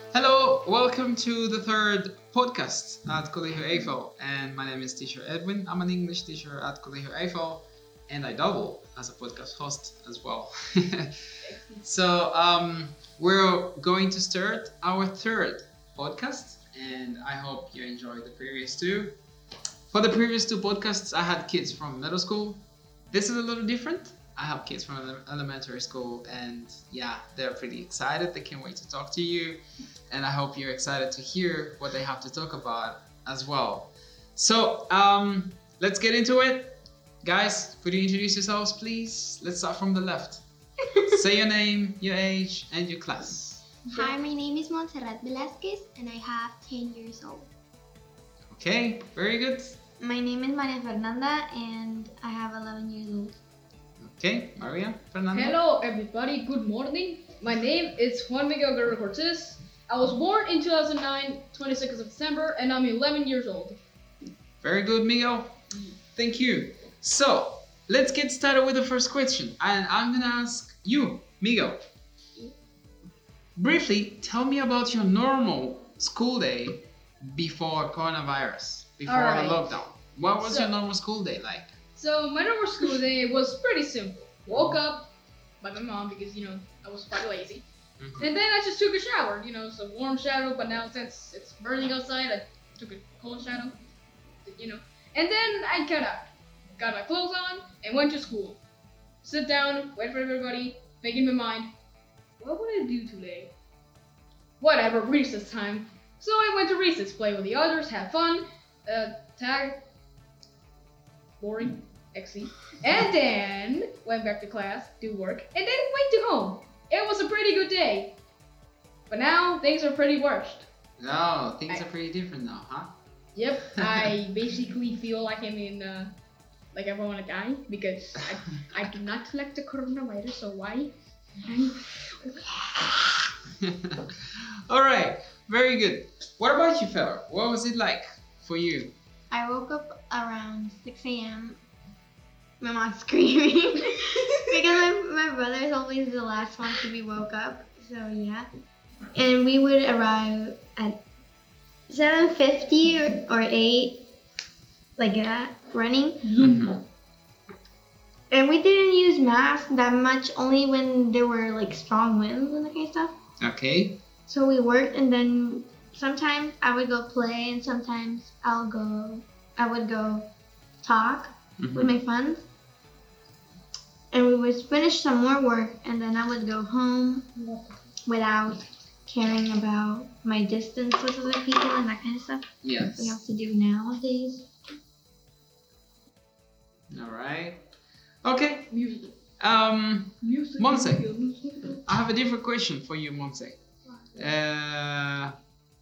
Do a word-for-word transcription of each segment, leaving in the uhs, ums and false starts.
Hello, welcome to the third podcast at Colegio Eiffel, and my name is Teacher Edwin. I'm an English teacher at Colegio Eiffel, and I double as a podcast host as well. so um, we're going to start our third podcast, and I hope you enjoyed the previous two. For the previous two podcasts, I had kids from middle school. This is a little different. I have kids from ele- elementary school, and yeah, they're pretty excited. They can't wait to talk to you, and I hope you're excited to hear what they have to talk about as well. So um, let's get into it. Guys, could you introduce yourselves, please? Let's start from the left. Say your name, your age, and your class. Hi, my name is Montserrat Velasquez and I have ten years old. Okay, very good. My name is Maria Fernanda and I have eleven years old. Okay, Maria, Fernanda. Hello everybody, good morning. My name is Juan Miguel Guerrero Cortez. I was born in two thousand nine, twenty-sixth of December, and I'm eleven years old. Very good, Miguel. Thank you. So, let's get started with the first question. And I'm gonna ask you, Miguel. Briefly, tell me about your normal school day before coronavirus, before Alright. the lockdown. What was So- your normal school day like? So my normal school day was pretty simple. Woke up by my mom because, you know, I was quite lazy. Mhm. And then I just took a shower, you know, it's a warm shower, but now since it's burning outside, I took a cold shower, you know. And then I got out, got my clothes on, and went to school. Sit down, wait for everybody, making my mind, what would I do today? Whatever, recess time. So I went to recess, play with the others, have fun, uh, tag, boring, X C. And then went back to class, do work, and then went to home. It was a pretty good day. But now things are pretty worst. No, things I- are pretty different now, huh? Yep, I basically feel like I'm in, uh, like I want to die because I, I do not collect the coronavirus, so why? All right, very good. What about you, fella? What was it like for you? I woke up around six a.m. My mom's screaming because my, my brother is always the last one to be woke up. So yeah, and we would arrive at seven fifty or, or eight, like that, running. Mhm. And we didn't use masks that much, only when there were like strong winds and that kind of stuff. Okay. So we worked, and then sometimes I would go play, and sometimes I'll go, I would go talk with Mhm. my friends. And we would finish some more work, and then I would go home without caring about my distance with other people and that kind of stuff Yes. we have to do nowadays. All right. Okay. Music. Um, Music. Monse. Music. I have a different question for you, Monse. Uh,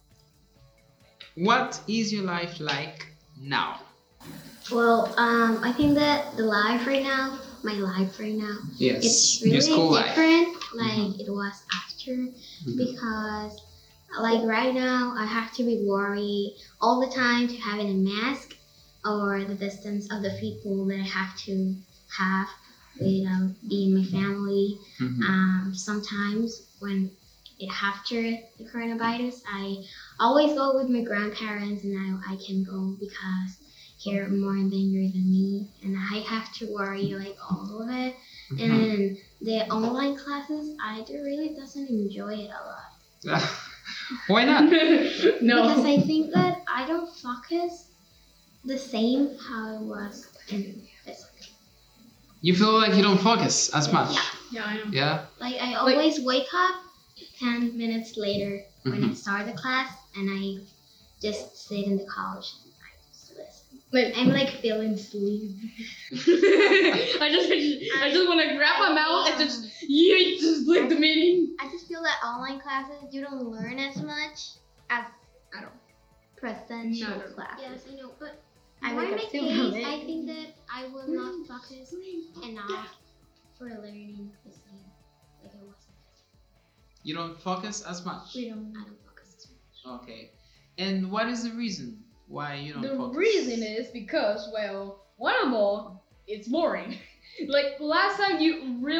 what is your life like now? Well, um, I think that the life right now, my life right now, Yes. it's your really school life. different like Mhm. it was after Mhm. because like right now I have to be worried all the time to having a mask or the distance of the people that I have to have with um, being my family. Mhm. Um, sometimes when it after the coronavirus, I always go with my grandparents and now I can go because they're more in danger than me and I have to worry like all of it. Mhm. And the online classes, I do really doesn't enjoy it a lot Why not? no. because I think that I don't focus the same how it was in physics. You feel like you don't focus as much. Yeah, I know. Yeah. Like I always wake up ten minutes later when I Mhm. start the class and I just sit in the couch and I just listen. Like, I'm like feeling sleep. I just, I just want to grab my mouth and just, yeah, just like the meeting. I just feel that online classes, you don't learn as much as, I don't presential No. classes. Yes, I know, but I more wake in up my too case, early. I think that I will not focus enough for learning the same like I was. You don't focus as much. We don't. I don't focus as much. Okay. And what is the reason why you don't The focus? reason is because, well, one of all, it's boring. Like last time, you really had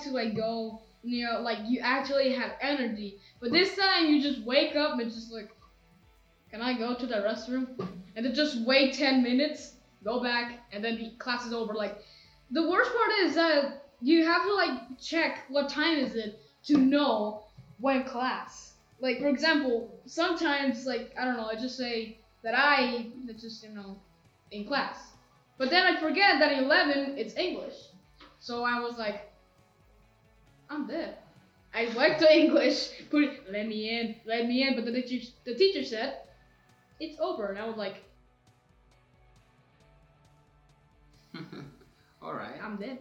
to like go, you know, like you actually have energy. But this time you just wake up and just like, can I go to the restroom? And then just wait ten minutes, go back, and then the class is over. Like, the worst part is that you have to like check what time is it to know when class. Like, for example, sometimes like I don't know, I just say that I that just you know in class, but then I forget that at eleven it's English. So I was like, I'm dead. I went to English, put it, let me in, let me in, but the teacher the teacher said it's over, and I was like, All right. I'm dead.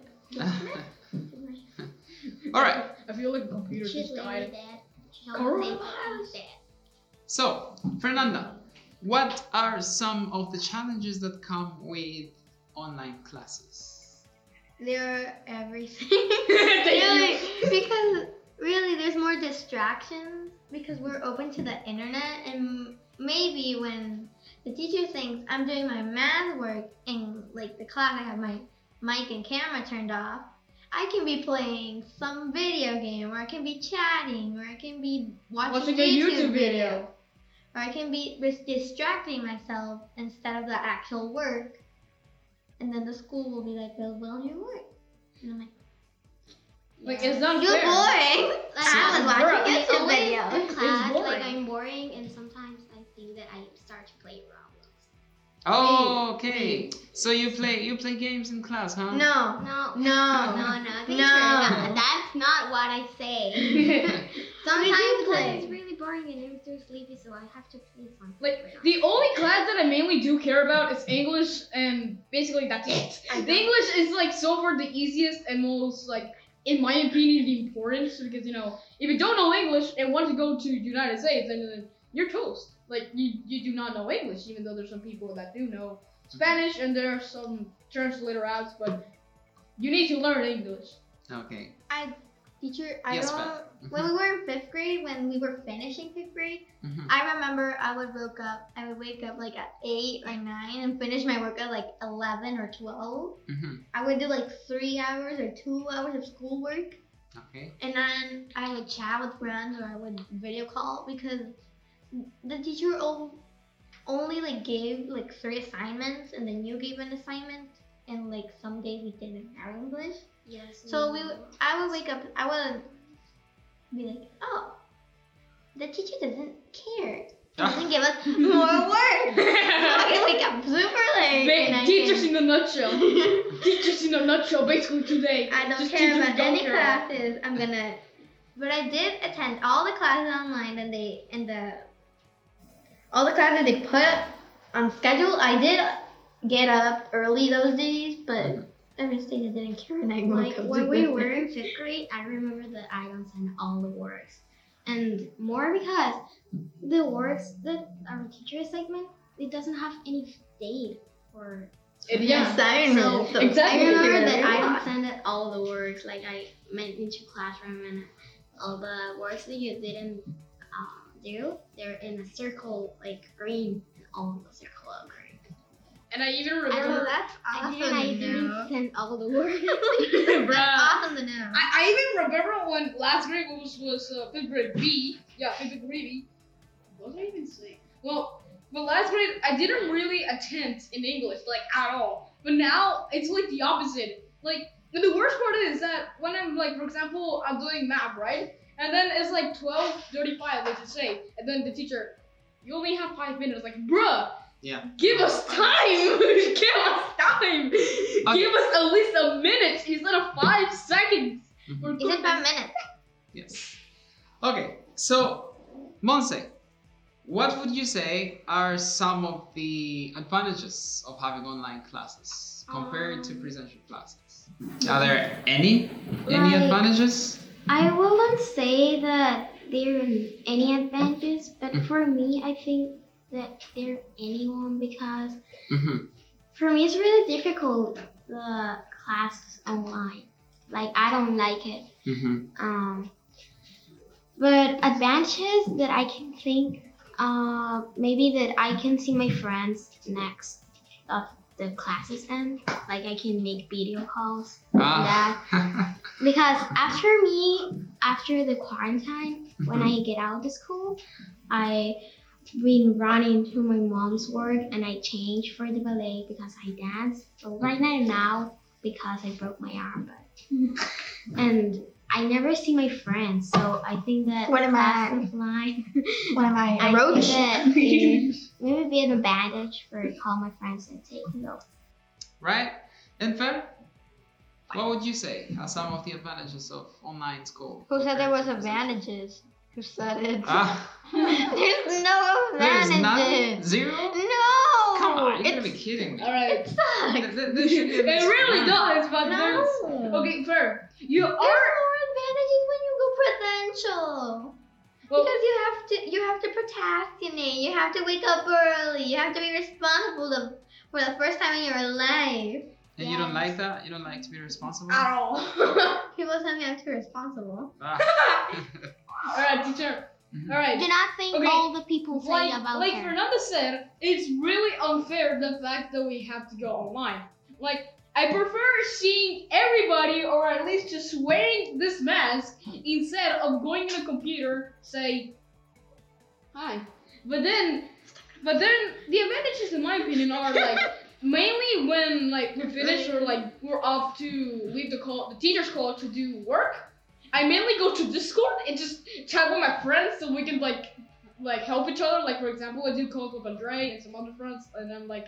All right. I feel like the computer She's just literally died. dead. She always say Coronavirus. she's dead. So, Fernanda, what are some of the challenges that come with online classes? They're everything. Thank really, you. because really there's more distractions because we're open to the internet, and maybe when the teacher thinks I'm doing my math work in like the class, I have my mic and camera turned off, I can be playing some video game, or I can be chatting, or I can be watching, Watching a a YouTube, YouTube video. video. Or I can be just distracting myself instead of the actual work. And then the school will be like, well, well, your work. And I'm like, Like, it's not you're fair. boring. Like, I was Bruh, watching It's YouTube always video. in class, boring. like I'm boring, and sometimes I think that I start to play Roblox. Oh, okay. So you play you play games in class, huh? No. No, No. no, no, teacher, No. no, that's not what I say. Sometimes do class play. is really boring and I'm too sleepy, so I have to play something. Like, the only class that I mainly do care about is English, and basically that's it. The English is like so far the easiest and most like, in my opinion, the important, because you know, if you don't know English and want to go to United States, then you're toast. Like, you, you do not know English, even though there's some people that do know Spanish and there are some translator apps, but you need to learn English. Okay. I, teacher, I Yes, don't. ma'am. When we were in fifth grade, when we were finishing fifth grade, Mhm. I remember I would wake up. I would wake up like at eight or nine and finish my work at like eleven or twelve. Mhm. I would do like three hours or two hours of schoolwork, Okay. and then I would chat with friends or I would video call because the teacher o- only like gave like three assignments, and then you gave an assignment, and like some days we didn't have English. Yes. So we, would, I would wake up. I would be like, oh, the teacher doesn't care. She doesn't give us more work. So I can wake up super late. and I Ba- teachers can- in a nutshell. Teachers in a nutshell, basically today. I don't Just care teachers about don't any care. classes. I'm gonna, but I did attend all the classes online, and they and the all the classes they put on schedule. I did get up early those days, but every day I didn't care, and I woke Like up when super we late. were in fifth grade, I remember that I don't send all the works, and more because the works that our teacher assignment, it doesn't have any date for. It- yeah. Assignments, So, exactly. I remember Yeah. that I don't send it all the works, like I went into classroom and all the works that you didn't um, do, they're in a circle like green, all the circle of green. And I even Oh, remember. that's I awesome. didn't, I to didn't know. send all the works. Bruh. That's awesome to know. I, I even remember when last grade was was uh, fifth grade B. Yeah, fifth grade B. What did I even say? Well, but last grade I didn't really attend in English like at all. But now it's like the opposite. Like, and the worst part is that when I'm like, for example, I'm doing math, right? And then it's like twelve thirty-five, let's just say, and then the teacher, you only have five minutes. Like, bruh, Yeah. give us time. Give us time. Give us at least a minute instead of five seconds. Mhm. For Is it five goodness- minutes? Yes. Okay. So, Monse, what would you say are some of the advantages of having online classes compared to Um, presential classes? Are there any any Like- advantages? I wouldn't say that there are any advantages, but Mhm. for me, I think that there any one because Mm-hmm. for me it's really difficult the classes online. Like I don't like it. Mm-hmm. Um, but advantages that I can think, uh, maybe that I can see my friends next, uh, the classes end. Like I can make video calls. Ah. Because after me, after the quarantine, when I get out of the school, I been running to my mom's work and I changed for the ballet because I dance. But right now, now because I broke my arm, but and I never see my friends, so I think that What am I? class offline. What am I? I A roach? think that it maybe be an advantage for call my friends and take notes. Right? And Fer, what would you say are some of the advantages of online school? Who said there was compared to physical? advantages? Who said it? Ah, There's no there's none? advantages. Zero? No. Come on, you're It's, gonna be kidding me. Alright. Th- th- there should be at It least really one. does, but no. there's. Okay, fair. You There's are. more advantages when you go presential. Well, Because you have to, you have to procrastinate. You have to wake up early. You have to be responsible to, for the first time in your life. And you don't like that? You don't like to be responsible? at all. People tell me I'm too responsible. Ah. Alright, teacher. Mhm. Alright. Do not think Okay, all the people say Like, about like her. Fernanda said, it's really unfair the fact that we have to go online. Like, I prefer seeing everybody, or at least just wearing this mask, instead of going in a computer, say, hi. But then, but then the advantages, in my opinion, are like mainly when like we finish or like we're off to leave the call, the teacher's call to do work. I mainly go to Discord and just chat with my friends so we can like like help each other. Like for example, I do calls with Andre and some other friends, and I'm like,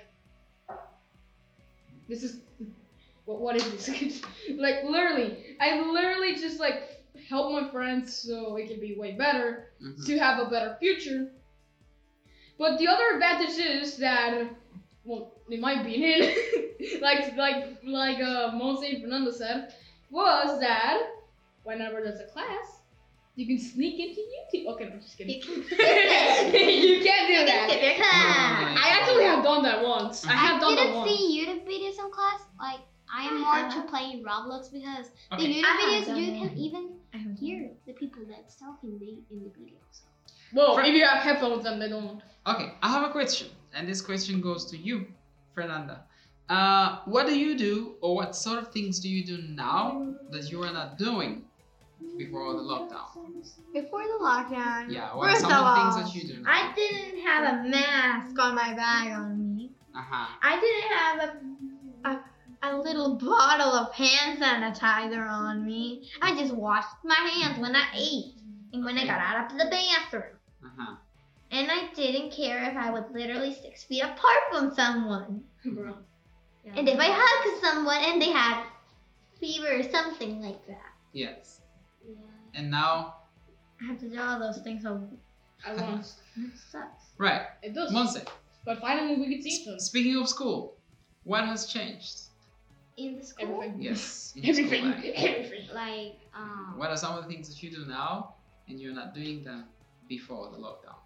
this is what what is this? Like literally, I literally just like help my friends so it can be way better Mhm. to have a better future. But the other advantage is that, well, in my opinion, like like like uh, Monse and Fernanda said, was that whenever there's a class, you can sneak into YouTube. Okay, no, I'm just kidding. You can skip it. You can't do You can that. skip your class. Oh, I actually have done that once. I have I done that didn't once. see YouTube videos in class. Like I am more to playing Roblox because the Okay. YouTube I have videos done you it. can even I haven't hear the people that's talking the, in the videos. Well, For- if you have headphones, then they don't. Okay, I have a question, and this question goes to you, Fernanda. Uh, what do you do, or what sort of things do you do now that you were not doing before the lockdown? Before the lockdown. Yeah, what are First some of of the all, things that you do now? I didn't have a mask on my bag on me. Uh-huh. I didn't have a, a a little bottle of hand sanitizer on me. I just washed my hands when I ate and when I got out of the bathroom. Uh-huh. And I didn't care if I was literally six feet apart from someone. Bro. Yeah. And if I hugged someone and they had fever or something like that. Yes. Yeah. And now, I have to do all those things, so At once. it sucks. right, It does. Monse, But finally, we can see them. s- speaking of school, what has changed? In the school, Everything. Yes. in Everything. school life. Everything. like um, What are some of the things that you do now, and you're not doing them before the lockdown?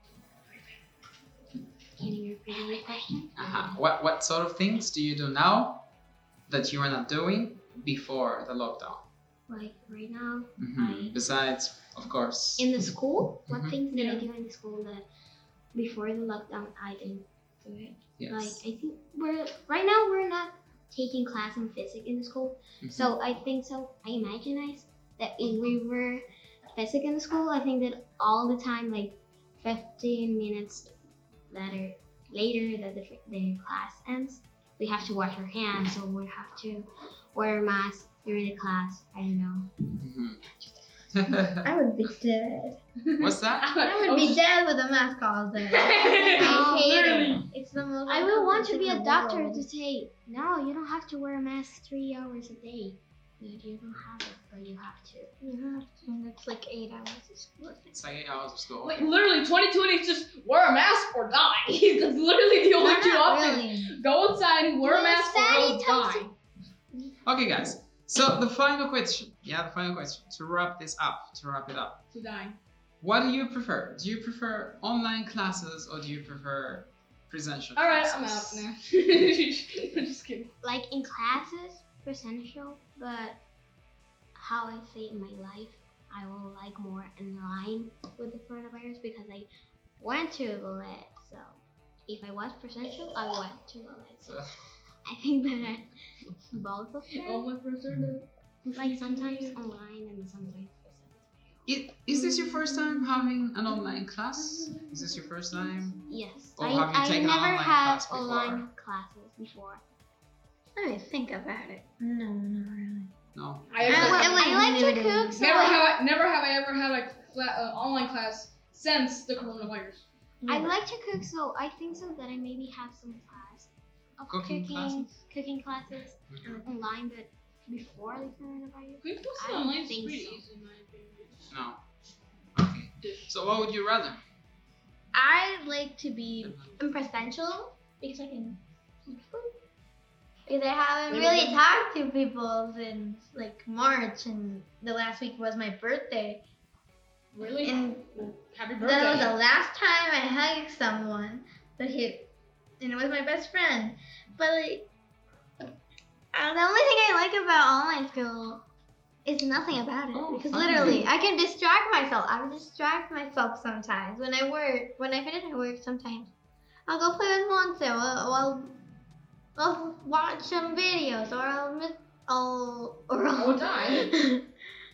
can you repeat your question? Uh-huh. What what sort of things do you do now that you are not doing before the lockdown? Like right now, Mhm. I- Besides, of course. in the school, what Mhm. things did I Yeah. do in the school that before the lockdown I didn't do it? Yes. Like I think we're right now we're not taking class in physics in the school, Mhm. so I think so. I imagine that if we were physics in the school, I think that all the time, like fifteen minutes later, later that the, the class ends, we have to wash our hands, so we have to wear a mask during the class. I don't know. Mhm. I would be dead. What's that? I would be dead with a mask all day. Oh, I hate literally. it. It's the most. I will want to be a uncomfortable doctor world. to say, no, you don't have to wear a mask three hours a day. No, you don't have it, but you have to. You have to. And it's like eight hours of school. It's like eight hours of school. Like literally, twenty twenty is just wear a mask or die. That's literally the only Not two options. really. Go outside, wear a Well, mask, or Sadie else tells die. Okay, guys. So the final question. Yeah, the final question. To wrap this up. To wrap it up. To die. What do you prefer? Do you prefer online classes or do you prefer presential All right, I'm out classes? now. I'm just kidding. Like in classes, presential, but how I say in my life, I will like more in line with the coronavirus because I went to ballet, so if I was presential, I went to online. So So, I think that both of them, Oh my person. like sometimes online and sometimes presential. i- is this your first time having an online class? Is this your first time? Yes, Or I, have you I taken an never online had class before? online classes before. Let me think about it. No, not really. No. I, I, actually, I, I like to limited. cook, so never I, have I, never have I ever had a fla- uh, online class since the coronavirus. I like to cook, so I think so that I maybe have some class of Cooking cooking, classes? cooking classes Mhm. online, but before the coronavirus. Quick I classes don't online is think pretty so. easy in my opinion. No. Okay. So what would you rather? I like to be In presential, because I can. because I haven't Maybe really then- talked to people since like March, and the last week was my birthday. Really? And Happy birthday. that was the last time I hugged someone, but he, and it was my best friend. But like, uh, the only thing I like about online school is nothing about it, Oh, because finally. literally I can distract myself. I distract myself sometimes when I work. When I finish my work, sometimes I'll go play with Monse. Or I'll, I'll watch some videos, or I'll miss, I'll, or I would I'll, die.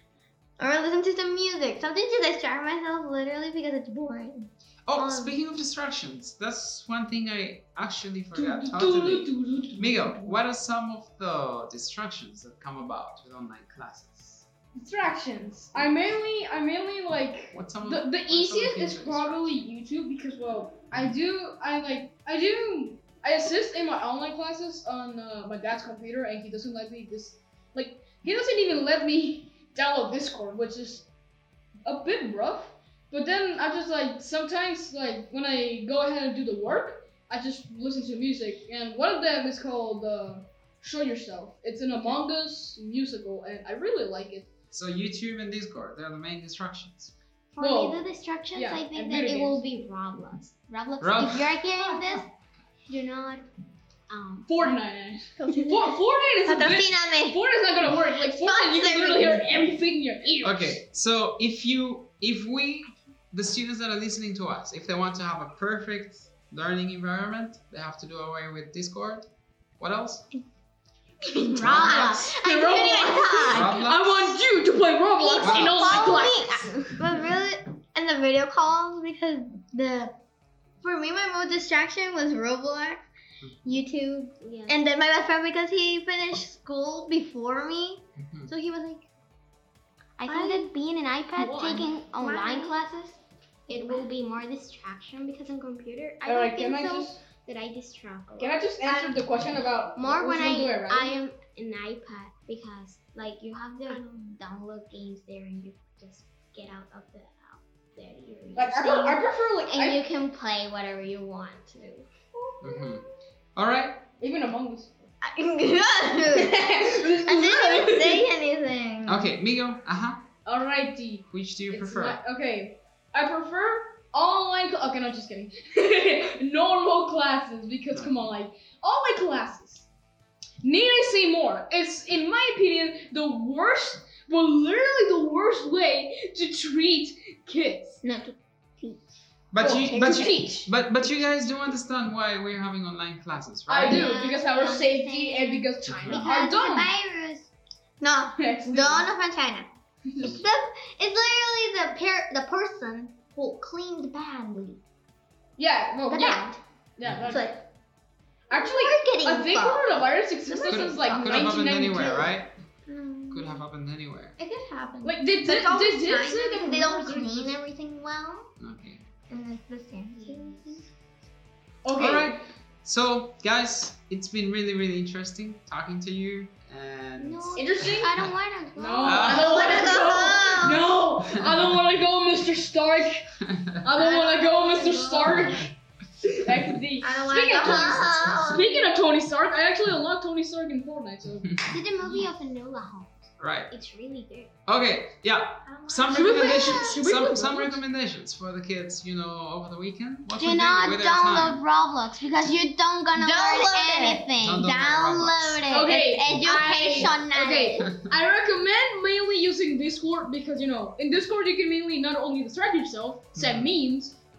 or I'll listen to some music. Something to distract myself, literally, because it's boring. Oh, Um, speaking of distractions, that's one thing I actually forgot totally. Miguel, what are some of the distractions that come about with online classes? Distractions. I mainly, I mainly like What some of the, what the are some of easiest the is things probably YouTube because well, I do, I like, I do, I assist in my online classes on uh, my dad's computer, and he doesn't let me this, like, he doesn't even let me download Discord, which is a bit rough. But then I just like sometimes like when I go ahead and do the work, I just listen to music, and one of them is called uh, "Show Yourself." It's an Among Us musical, and I really like it. So YouTube and Discord, they're the main distractions. For Well, me, the distractions, yeah, I think and that video it will be Roblox. Roblox, Rob- if you're hearing this, do not. Um, Fortnite. For- Fortnite is a bit. Patrocíname. Fortnite's not gonna work. Like Fortnite, you can literally hear everything in your ears. Okay, so if you, if we, the students that are listening to us, if they want to have a perfect learning environment, they have to do away with Discord. What else? Roblox. Roblox. I couldn't even talk. Roblox? I want you to play Roblox Wow. in all my Follow classes. me. But really, in the video calls, because the for me, my most distraction was Roblox, YouTube, yeah. and then my best friend, because he finished school before me, Mhm. so he was like, I think that being an iPad, Why? taking online Why? classes, it will be more distraction because on computer, I Alright, don't can think I so just that I distract a lot. can I just answer the question about More which when one do I, rather? I am an iPad because like you have to download games there and you just get out of the app that you're like I, using, pre- I prefer like and I, you can play whatever you want to. Mhm. All right. even Among Us. I didn't even say anything. Okay, Miguel. Uh huh. Alrighty. Which do you It's prefer? not- okay, I prefer online. Cl- okay, no, just kidding. Normal classes because come on, like online classes. Need I say more? It's in my opinion the worst, well, literally the worst way to treat kids. Not to teach. But Well, you, to but you, teach. but but you guys do understand why we're having online classes, right? I do Yeah, because our I safety understand. and because China Because are the dumb. virus. No, don't offend China. It's, the, it's literally the per- the person who cleaned badly. Yeah, well, The yeah, band. yeah. It's That's, like actually, marketing I think fault. coronavirus existed Could since have, like could have happened nineteen ninety-two. anywhere, right? Mm, Could have happened anywhere. It could happen. Like they But did, it's always they did China say that because they don't coronavirus clean existed. everything well. Okay. And it's the same. Okay. All right. So, guys, it's been really, really interesting talking to you. And No, Interesting? I don't want to go. No, Ah. I don't want Wanna to go home. go. No, I don't want to go, Mister Stark. I don't want to go, Mister Stark. That's the. I don't want to Speaking go of Tony, home. speaking of Tony Stark, I actually unlocked Tony Stark in Fortnite. So Did the movie of Enola Holmes? right. It's really good. Okay. Yeah. I don't wanna Some Should we play- recommendations. should we Some play some Roblox? recommendations for the kids. You know, over the weekend. What Do we not do with their download time. Roblox because you don't gonna Download learn it. anything. Don't download Download it. Okay, It's educational. okay, I recommend mainly using Discord because you know in Discord you can mainly not only distract yourself, send memes,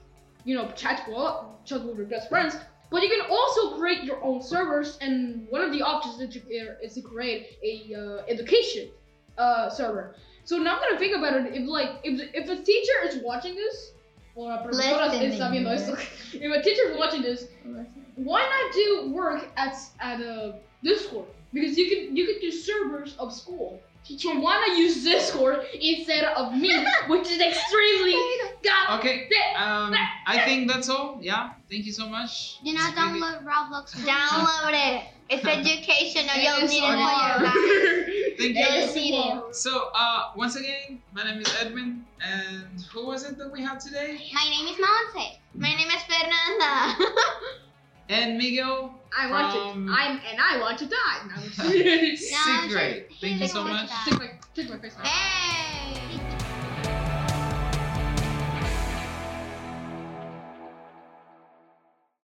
you know, chat well, chat with your best friends. But you can also create your own servers, and one of the options is to, is to create a uh, education uh, server. So now I'm gonna think about it. If like if if a teacher is watching this, or a profesora está viendo esto, if a teacher is watching this, why not do work at at a Discord? Because you can you can do servers of school. So why not use Discord instead of me, which is extremely god. Okay, um, I think that's all. Yeah, thank you so much. Do not It's really- download Roblox. Download it. It's educational. You'll It's need so it for your hard. life. Thank You'll you. see it. So, uh, once again, my name is Edwin, and who was it that we had today? My name is Monse. My name is Fernanda. And Miguel I want from to. I'm and I want to die. No, sixth No, grade. just- Thank you so he much. wants to take my take my face off. Hey.